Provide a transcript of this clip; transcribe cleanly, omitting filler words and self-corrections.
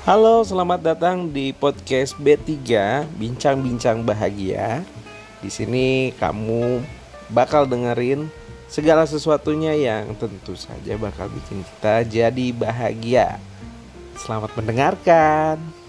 Halo, selamat datang di podcast B3 Bincang-bincang bahagia. Di sini kamu bakal dengerin segala sesuatunya yang tentu saja bakal bikin kita jadi bahagia. Selamat mendengarkan.